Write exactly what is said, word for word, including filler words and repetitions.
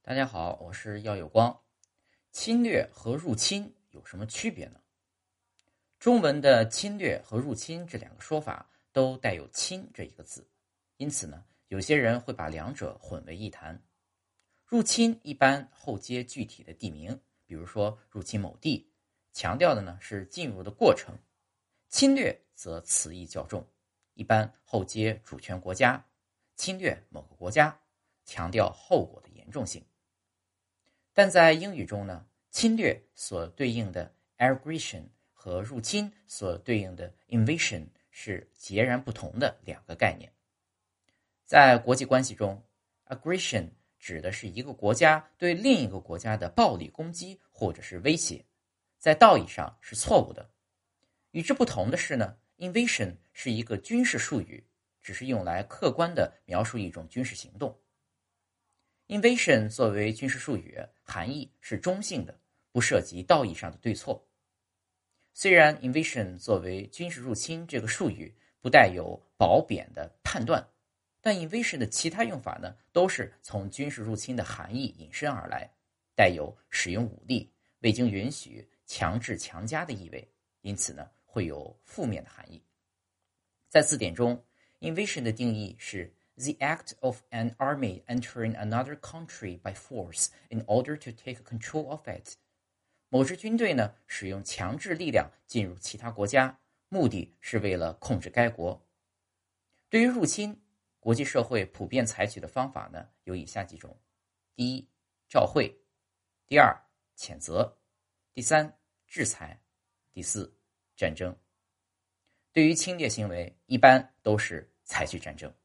大家好，我是耀有光。侵略和入侵有什么区别呢？中文的侵略和入侵这两个说法都带有侵这一个字，因此呢，有些人会把两者混为一谈。入侵一般后接具体的地名，比如说入侵某地，强调的呢是进入的过程；侵略则词义较重，一般后接主权国家，侵略某个国家，强调后果的严重性。但在英语中呢，侵略所对应的 aggression 和入侵所对应的 invasion 是截然不同的两个概念。在国际关系中 ，aggression 指的是一个国家对另一个国家的暴力攻击或者是威胁，在道义上是错误的。与之不同的是呢 ，invasion 是一个军事术语，只是用来客观地描述一种军事行动。Invasion 作为军事术语，含义是中性的，不涉及道义上的对错。虽然 invasion 作为军事入侵这个术语不带有褒贬的判断，但 invasion 的其他用法呢，都是从军事入侵的含义引申而来，带有使用武力、未经允许、强制强加的意味，因此呢，会有负面的含义。在字典中 ，invasion 的定义是The act of an army entering another country by force in order to take control of it. 某支军队呢，使用强制力量进入其他国家，目的是为了控制该国。对于入侵，国际社会普遍采取的方法呢，有以下几种：第一，照会；第二，谴责；第三，制裁；第四，战争。对于侵略行为，一般都是采取战争。